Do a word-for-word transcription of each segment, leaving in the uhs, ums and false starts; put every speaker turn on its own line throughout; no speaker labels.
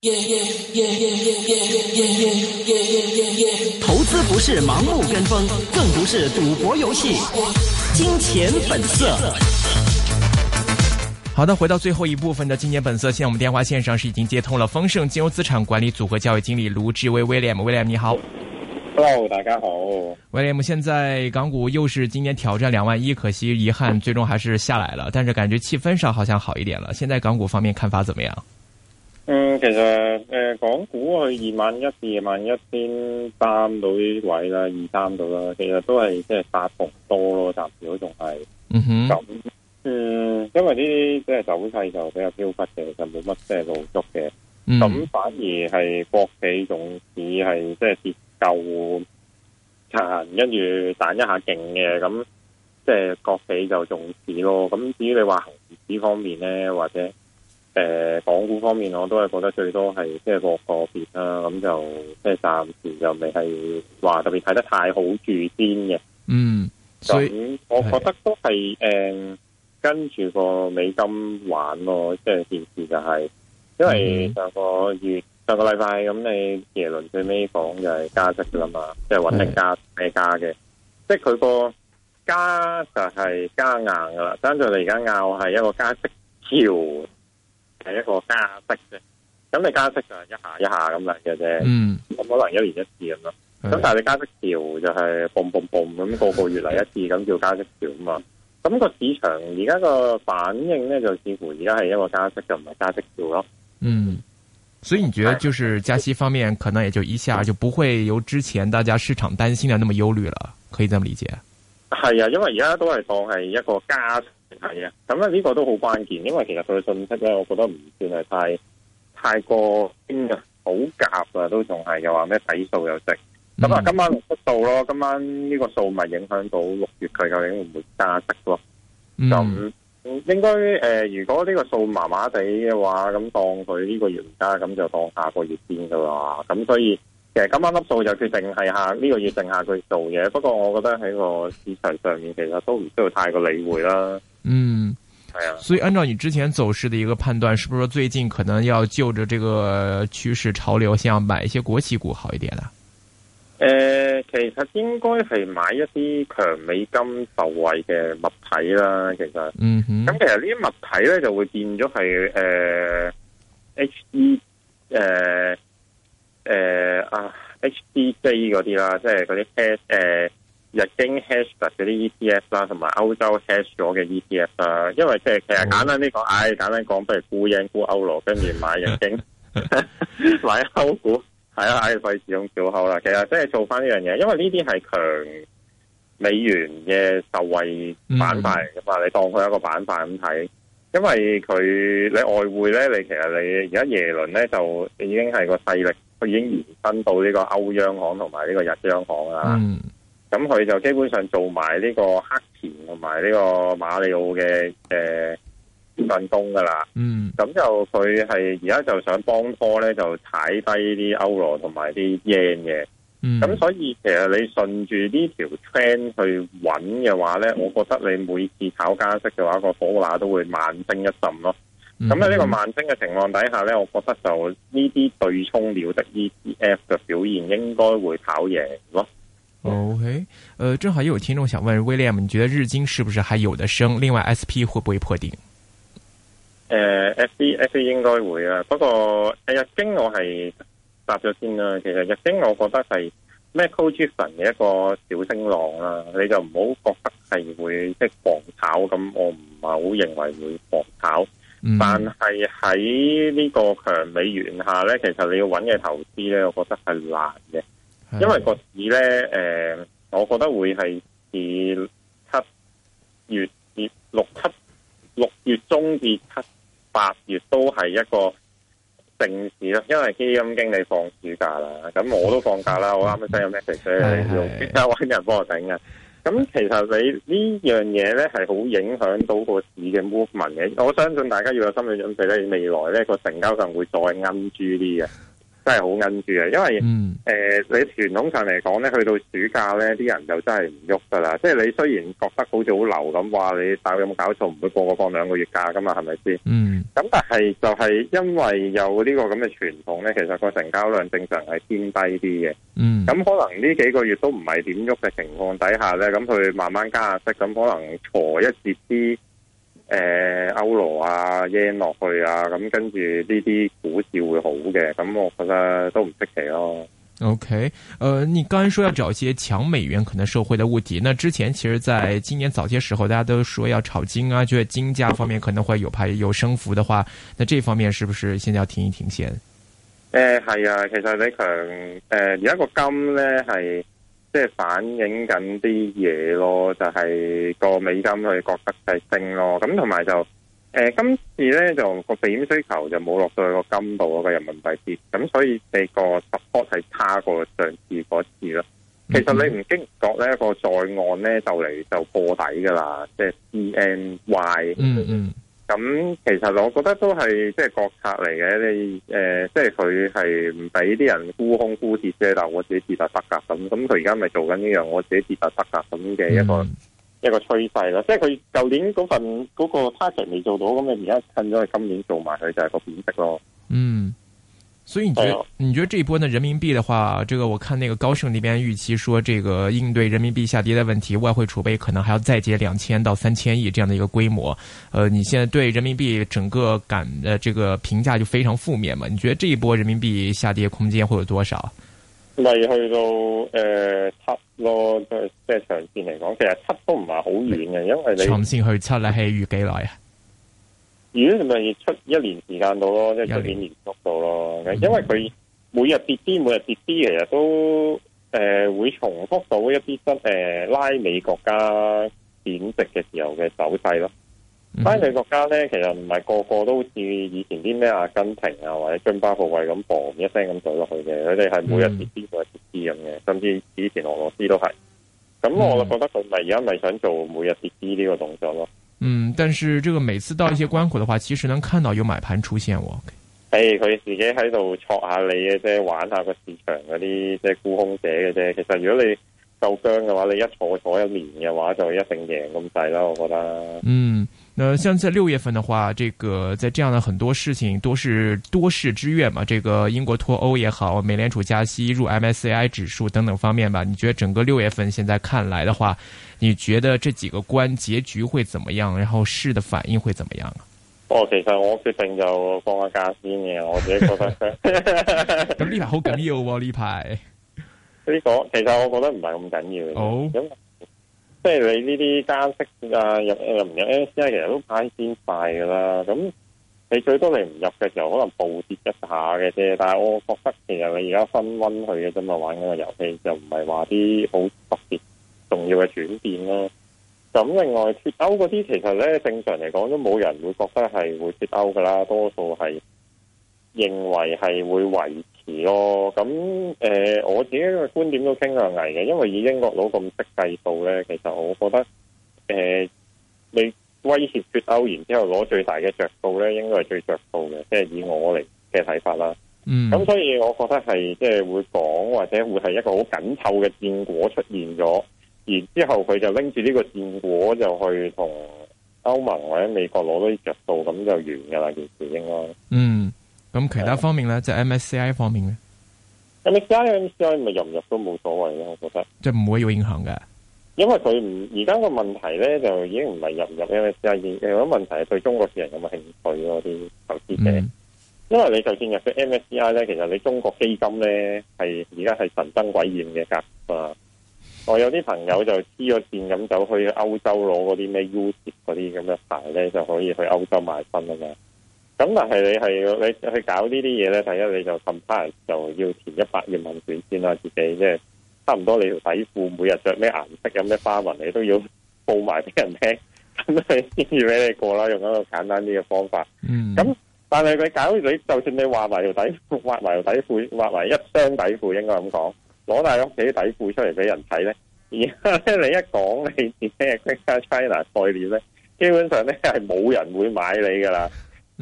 投資不是盲目跟風，更不是賭博遊戲。金錢本色。好的，回到最後一部分的金錢本色，現在我們電話線上是已經接通了豐盛金融資產管理組合交易經理盧志威 William。William 你好。
Hello， 大家好。
William， 現在港股又是今年挑戰兩萬一，可惜遺憾最終還是下來了，但是感覺氣氛上好像好一點了。現在港股方面看法怎麼樣？
嗯，其實誒、呃，港股去二萬一至二萬一千三到啲位啦，二三到啦，其實都係即係殺幅多咯，暫時都仲係。嗯哼。咁，嗯，因為呢啲即係走勢就比較飄忽嘅，就冇乜即係露足嘅。咁、嗯、反而係國企總市係即係跌夠殘，跟住彈一下勁嘅，咁即係國企就重視咯。咁至於你話恒指方面咧，或者誒、呃，港股方面我都係覺得最多係即係個個別啦，咁就即係暫時就未係話特別睇得太好住先嘅。嗯，咁我覺得都係誒、呃、跟住個美金玩咯，即係件事就係、是，因為上個月、嗯、上個禮拜咁你耶倫最尾講就係加息噶啦嘛，即係穩定加咩加嘅，即係佢個加就係加硬噶啦，爭在你而家拗係一個加息橋。係一個加息啫，咁你加息就係一下一下咁嚟嘅啫，咁、嗯、可能一年一次咁咯。咁但係你加息潮就係嘣嘣嘣咁個個月嚟一次，咁叫加息潮啊嘛。咁、個市場而家個反應咧，就似乎而家係一個加息，就唔係加息潮咯。嗯，所以你覺得就是加息方面，可能也就一下就不會由之前大家市場擔心的那麼憂慮了，可以這麼理解？係啊，因為而家都係當係一個加息。係啊，咁咧呢個都好關鍵，因為其實佢嘅信息咧，我覺得唔算係太太過堅啊，好夾啊，都仲係又話咩底數又值。咁、嗯、啊，今晚六出數咯，今晚呢個數咪影響到六月佢究竟會唔會加息咯？咁、嗯、應該誒、呃，如果呢個數麻麻地嘅話，咁當佢呢個月唔加，咁就當下個月先噶啦。咁所以其實今晚粒數就決定係下呢、這個月定下個月做嘅。不過我覺得喺個市場上面，其實都唔需要太過理會啦。嗯，係啊，所以按照你之前走勢的一個判斷，是不是說最近可能要就着這個趨勢潮流，先要買一些國企股好一點啦？誒、呃，其實應該係買一啲強美金受惠嘅物體啦。其實，嗯哼，咁其實呢啲物體咧就會變咗係誒 H E 誒誒啊 H D J 嗰啲啦，即係嗰啲 H 誒。日經 hedge 嗰啲 E T F 啦，同埋歐洲 hedge 咗嘅 E T F 啦，因為即係其實簡單啲講，唉、哎，簡單講，不如沽英沽歐羅，跟住買日經，買歐股，係啊，唉，費事用小口啦。其實即係做翻呢樣嘢，因為呢啲係強美元嘅受惠板塊嚟噶嘛，你當佢一個板塊咁睇。因為佢你外匯咧，你其實你而家耶倫咧就已經係個勢力，佢已經延伸到呢個歐央行同埋呢個日央行啦。嗯，咁佢就基本上做埋呢個黑田同埋呢個馬里奧嘅誒進攻噶啦。嗯，咁就佢係而家就想幫拖咧，就踩低啲歐羅同埋啲 yen 嘅。嗯，咁所以其實你順住呢條 trend 去揾嘅話咧，我覺得你每次炒加息嘅話，個火拿都會慢升一陣咯。咁喺呢個慢升嘅情況底下咧，我覺得就呢啲對沖料的 E T F 嘅表現應該會跑贏咯。OK，呃，正好也有聽眾想問 William， 你覺得日經是不是還有得升？另外 S P 會不會破頂？誒、呃、，S P S P 應該會啊，不過誒日經我係答咗先啦。其實日經我覺得係 macro driven 嘅一個小升浪啦，你就唔好覺得係會即係狂炒咁，我唔係好認為會狂炒。嗯、但係喺呢個強美元下咧，其實你要揾嘅投資咧，我覺得係難嘅。因為個市咧，誒、呃，我覺得會係至七月至六七六月中至七八月都係一個盛事啦。因為基金經理放暑假啦，咁我都放假啦，我啱啱 send 有 message 你用即刻搵人幫我頂嘅。咁其實你呢樣嘢咧係好影響到個市嘅 movement 嘅。我相信大家要有心理準備咧，未來咧個成交量會再奀住啲嘅。 真係好奀住嘅，因為誒、
嗯
呃、你傳統上嚟講咧，去到暑假咧，啲人就真係唔喐噶啦。即係你雖然覺得好似好流咁，話你大有冇搞錯，唔會個個放兩個月假噶嘛，係咪先？
嗯。
咁但係就係因為有呢個咁嘅傳統咧，其實個成交量正常係偏低啲嘅。
嗯。咁
可能呢幾個月都唔係點喐嘅情況底下咧，咁佢慢慢加下息，咁可能挫一截啲。誒、呃，歐羅啊，yen 落去啊，咁跟住呢啲股市會好嘅，咁我覺得都唔出奇咯。
OK，呃，你剛才說要找一些強美元可能受惠的物體，那之前其實在今年早些時候，大家都說要炒金啊，覺得金價方面可能會有排有升幅的話，那這方面是不是現在要停一停先？
誒，係啊，其實你強誒，而家個金咧係。即係反映緊啲嘢咯，就係、是、個美金佢覺得係升咯，咁同埋就誒、呃、今次咧就個避險需求就冇落到去個金度嗰個人民幣跌，咁所以你個 support 係差過上次嗰次咯。其實你唔經唔覺咧，個在岸咧就嚟就破底噶啦，即係 C N Y。嗯嗯。咁其實我覺得都係即係國策嚟嘅，你誒、呃，即係佢係唔俾啲人沽空沽跌啫，但係我自己跌就得噶，咁咁佢而家咪做緊呢樣，我自己跌就得噶咁嘅一個、嗯、一個趨勢咯。即係佢舊年嗰份嗰個 target 未做到，咁你而家趁咗佢今年做埋佢就係個貶值咯。嗯。
所以你覺得你覺得這一波呢人民幣的話，這個我看那個高盛那邊預期說，這個應對人民幣下跌的問題，外匯儲備可能還要再接兩千到三千億這樣的一個規模。呃，你現在對人民幣整個感的這個評價就非常負面嘛？你覺得這一波人民幣下跌空間會有多少？
咪去到誒七咯，即係即係長線嚟講，其實七都唔係好遠嘅，因為你
長線去七咧係預幾耐啊？
如果咪出一年時間到咯，即係出年年速度咯，因為佢每日跌啲，每日跌啲，其實都誒、呃、會重複到一啲真誒拉美國家貶值嘅時候嘅走勢咯。嗯、拉美國家咧，其實唔係個個都好似以前啲咩阿根廷啊或者津巴布韋咁嘣一聲咁走落去嘅，佢哋係每日跌啲，每日跌啲咁嘅，甚至以前俄羅斯都係。咁我就覺得佢咪而家咪想做每日跌啲呢個動作咯。
嗯，但是這個每次到一些關口的話，其實能看到有買盤出現喎。
誒，佢自己喺度戳下你嘅啫，玩下個市場嗰啲即係沽空者嘅啫。其實如果你夠僵嘅話，你一坐坐一年嘅話，就一定贏咁滯啦。我覺得。嗯，那像在
六月份的話，這個在這樣的很多事情都是多事之月嘛。這個英國脫歐也好，美聯儲加息入 M S C I 指數等等方面吧。你覺得整個六月份現在看來的話，你覺得這幾個關結局會怎麼樣？然後市的反應會怎麼樣啊？
哦，其實我決定就放下假先嘅，我自己覺得。
咁呢排好緊要喎，呢排
呢個其實我覺得唔係咁緊要嘅。好、oh. 咁即係你呢啲加息啊，入入唔入 M S C I 其實都派先快噶啦。咁你最多你唔入嘅時候，可能暴跌一下嘅啫。但係我覺得其實你而家分溫去嘅啫嘛，玩緊個遊戲就唔係話啲好特別重要嘅轉變咯。咁另外脫歐嗰啲，其實咧正常嚟講都冇人會覺得係會脫歐噶啦，多數係認為係會維持咯。咁誒、呃，我自己嘅觀點都傾向危嘅，因為以英國佬咁識計數咧，其實我覺得誒、呃，你威脅脫歐，然之後攞最大嘅着數咧，應該係最着數嘅，即係以我嚟嘅睇法啦。嗯，咁所以我覺得係即係會講，或者會係一個好緊湊嘅戰果出現咗。然之後佢就拎住呢個戰果就去同歐盟或者美國攞到啲着數，咁就完噶啦件事應該。嗯，咁其他方面咧，即係 M S C I 方面咧 ，M S C I、M S C I 咪入唔入都冇所謂咯，我覺得。即係唔會有影響嘅，因為佢唔而家個問題咧就已經唔係入唔入 M S C I，有個問題係對中國市人有冇興趣咯啲投資者。嗯、因為你就算入咗 M S C I 咧，其實你中國基金咧係而家係神憎鬼厭嘅格啊。我有啲朋友就黐咗線咁走去歐洲攞嗰啲咩 U 折嗰啲咁嘅牌咧，就可以去歐洲買分啊嘛。咁但係你係你去搞呢啲嘢咧，第一你就近排就要填一百頁問卷先啦，自己即係差唔多你條底褲每日着咩顏色有咩花紋，你都要報埋俾人聽，咁佢先至俾你過啦。用一個簡單啲嘅方法。嗯。咁但係佢搞你，就算你畫埋條底褲，畫埋條底褲，畫埋一雙底褲，應該咁講。攞大屋企啲底褲出嚟俾人睇咧，而家咧你一講你自己係 Greater China 概念咧，基本上咧係冇人會買你噶啦。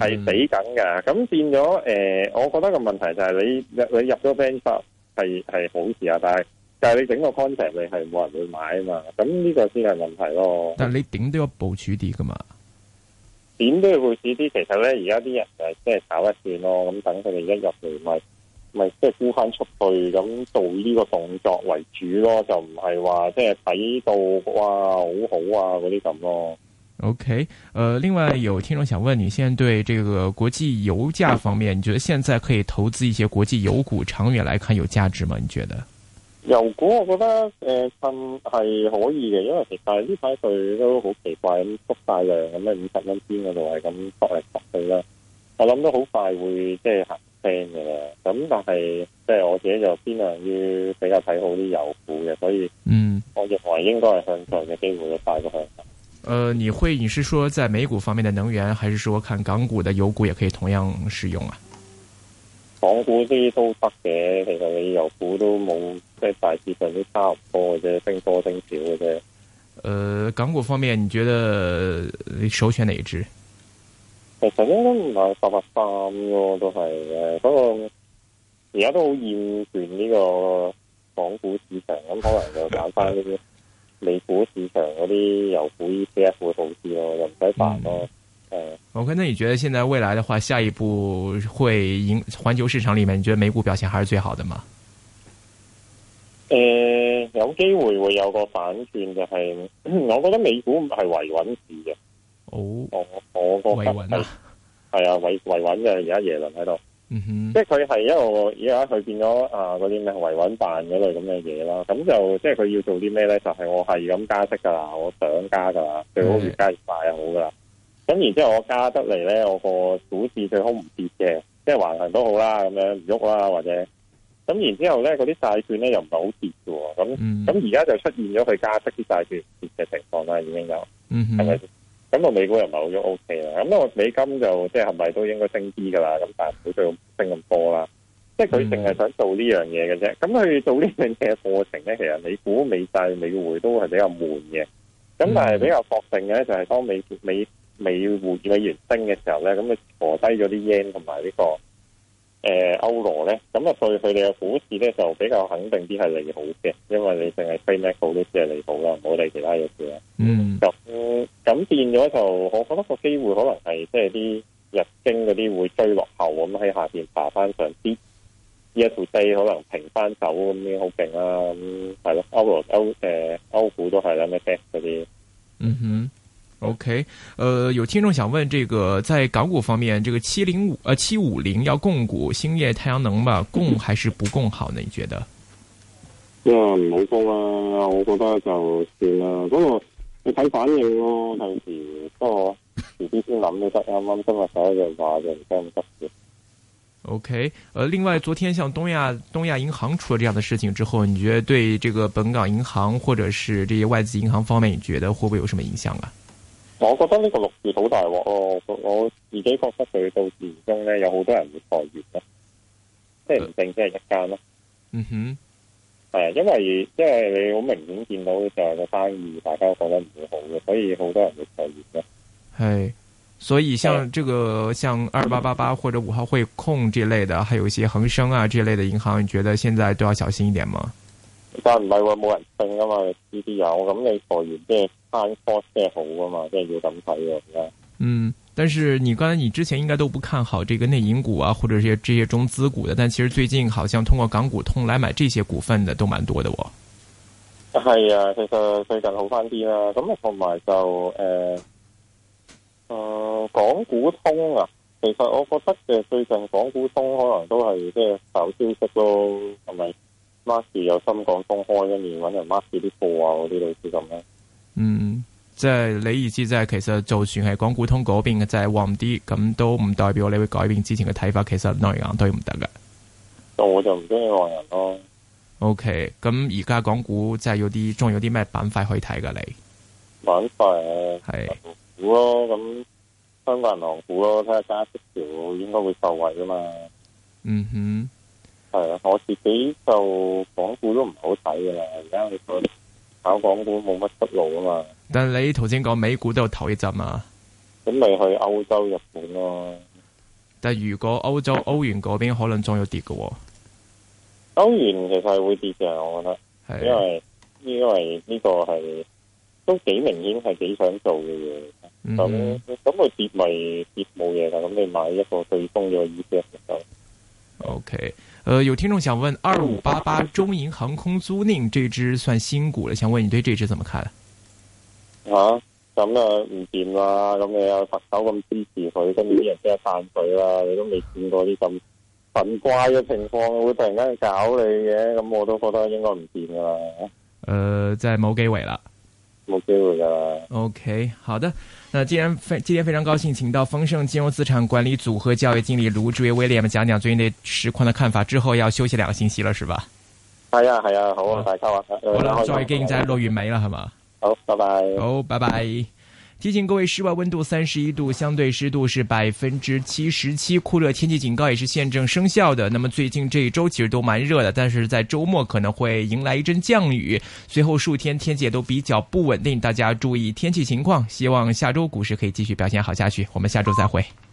係死緊噶。咁變咗誒、呃，我覺得個問題就係你你入咗 bench 係係好事啊，但係但係你整個 concept 你係冇人會買啊嘛。咁呢個先係問題咯。但係你點都要部署啲噶嘛？點都要部署啲。其實咧，而家啲人就係即係炒一轉咯。咁等佢哋一入嚟咪。咪即係沽翻出去，咁做呢個動作為主咯，就唔係話即係睇到哇好好啊嗰啲咁咯。OK，呃，另外有聽眾想問你，現在對這個國際油價方面，你覺得現在可以投資一些國際油股，長遠來看有價值嗎？你覺得？油股我覺得誒，趁、呃、係可以嘅，因為其實呢排佢都好奇怪咁縮大量咁咧，五十蚊邊嗰度係咁縮嚟縮去啦。我諗都好快會即係行升嘅啦，咁但係即係我自己就偏向於比較睇好啲油股嘅，所以嗯，我認為應該係向上嘅機會都大過向下。呃，你會你是說在美股方面的能源，還是說看港股的油股也可以同樣使用啊？港股啲都得嘅，其實你油股都冇，即係大致上都差唔多嘅啫，升多升少嘅啫。呃，港股方面，你覺得你首選哪一支？其實咧都唔係八八三咯，都係誒，不過而家都好厭倦呢個港股市場，咁可能就揀翻呢啲美股市場嗰啲油股 E T F 會好啲咯，又唔使煩咯。誒、嗯、，OK，那你覺得現在未來的話，下一步會贏環球市場裏面，你覺得美股表現還是最好的嗎？誒、呃，有機會會有個反轉，就係、是、我覺得美股唔係維穩市嘅。哦，我我覺得係係啊，維維穩嘅，而家耶倫喺度，嗯哼，即係佢係一個而家佢變咗啊嗰啲咩維穩辦嗰類咁嘅嘢啦，咁就即係佢要做啲咩咧？就係、是、我係咁加息噶啦，我想加噶啦，最好越加越快就好噶啦。咁然之後我加得嚟咧，我個股市最好唔跌嘅，即係橫行都好啦，咁樣唔喐啦，或者咁然之後咧，嗰啲債券咧又唔係好跌嘅，咁咁而家就出現咗佢加息啲債券跌嘅情況啦，已經有，嗯係咪？咁個美股又唔係好咗 O K 啦，咁個美金就即係係咪都應該升啲噶啦？咁但係唔好再升咁多啦。即係佢淨係想做呢樣嘢嘅啫。咁佢做呢樣嘢嘅過程咧，其實美股、美債、美匯都係比較悶嘅。咁但係比較確定嘅咧，就係當美美美匯美元升嘅時候咧，咁佢挫低咗啲 yen 同埋呢個誒歐羅咧，咁啊對佢哋嘅股市咧就比較肯定啲係利好嘅，因為你淨係飛 Macau 都只係利好啦，唔好理其他嘢嘅。嗯，咁咁變咗就，我覺得個機會可能係即係啲日經嗰啲會追落後咁喺下邊爬翻上啲，呢一條低可能平翻手咁樣好勁啦。咁係咯，歐羅歐誒歐股都係啦，咩 back 嗰啲。嗯哼。OK，呃，有聽眾想問，這個在港股方面，這個七零五呃七五零要供股，興業太陽能嘛，供還是不供好呢？你覺得？啊，唔好供啦，我覺得就算啦。不過你睇反應咯，有時不過遲啲先諗都得。啱啱今日睇嘅話就唔使咁急嘅。OK，呃，另外，昨天像東亞東亞銀行出了這樣的事情之後，你覺得對這個本港銀行或者是這些外資銀行方面，你覺得會不會有什麼影響啊？我覺得呢個六月好大鑊咯，我自己覺得佢到年中咧有好多人會裁員咯，即係唔淨只係一間咯。嗯哼，係因為因為你好明顯見到就係個生意大家覺得唔會好嘅，所以好多人會裁員咯。係，所以像這個像二八八八或者五號匯控這類的，還有一些恒生啊這類的銀行，你覺得現在都要小心一點嗎？但唔係話冇人性啊嘛，呢啲有咁你裁員即係翻 cost 即係好啊嘛，即係要咁睇嘅而家。嗯，但是你剛才你之前應該都不看好這個內銀股啊，或者這些這些中資股的，但其實最近好像通過港股通來買這些股份的都蠻多的喎。係啊，其實最近好翻啲啦，咁啊同埋就誒，誒、呃呃、港股通啊，其實我覺得嘅最近港股通可能都係即係炒消息咯，係咪？mark 住有深港通開一面揾人 mark 住啲貨啊，嗰啲類似咁咧。嗯，即係你意思即係其實就算係港股通嗰邊嘅就係旺啲，咁都唔代表你會改變之前嘅睇法。其實內銀都唔得嘅。我就唔中意內銀咯。OK，咁而家港股即係有啲，仲有啲咩板塊可以睇噶？你板塊係股咯，咁香港銀行股咯，睇下加息條應該會受惠噶嘛。嗯哼。係啊，我自己就港股都唔好睇噶啦，而家你講炒港股冇乜出路啊嘛。但係你頭先講美股都有投一陣啊，咁咪去歐洲、日本咯。
但如果歐洲歐元嗰邊可能仲要跌嘅、哦，
歐元其實係會跌嘅，我覺得，係因為因為呢個係都幾明顯係幾想做嘅嘢，咁咁佢跌咪跌冇嘢噶，咁你買一個對沖嘅 E T F 就
OK。呃，有聽眾想問二五八八中銀航空租賃這支算新股了，想問你對這支怎麼看？
吓、啊？咁啊唔掂啦，咁你有特首咁支持佢，跟住啲人即係彈佢啦，你都未見過啲咁神怪嘅情況，會突然間搞你嘅，咁我都覺得應該唔掂噶啦。誒、
呃，即係冇機會啦，
冇機會噶啦。
OK，好的。那既然非今天非常高興，請到豐盛金融資產管理組合交易經理盧志威 William 講講最近對實況的看法，之後要休息兩個星期了，是吧？
係啊係啊，好啊，大家話。
好啦，再見，在六月尾啦，係嘛？
好，拜拜。
好，拜拜。提醒各位，室外溫度三十一度，相對濕度是百分之七十七，酷熱天氣警告也是現正生效的。那麼最近這一周其實都蠻熱的，但是在周末可能會迎來一陣降雨，隨後數天天氣也都比較不穩定，大家注意天氣情況。希望下周股市可以繼續表現好下去。我們下周再會。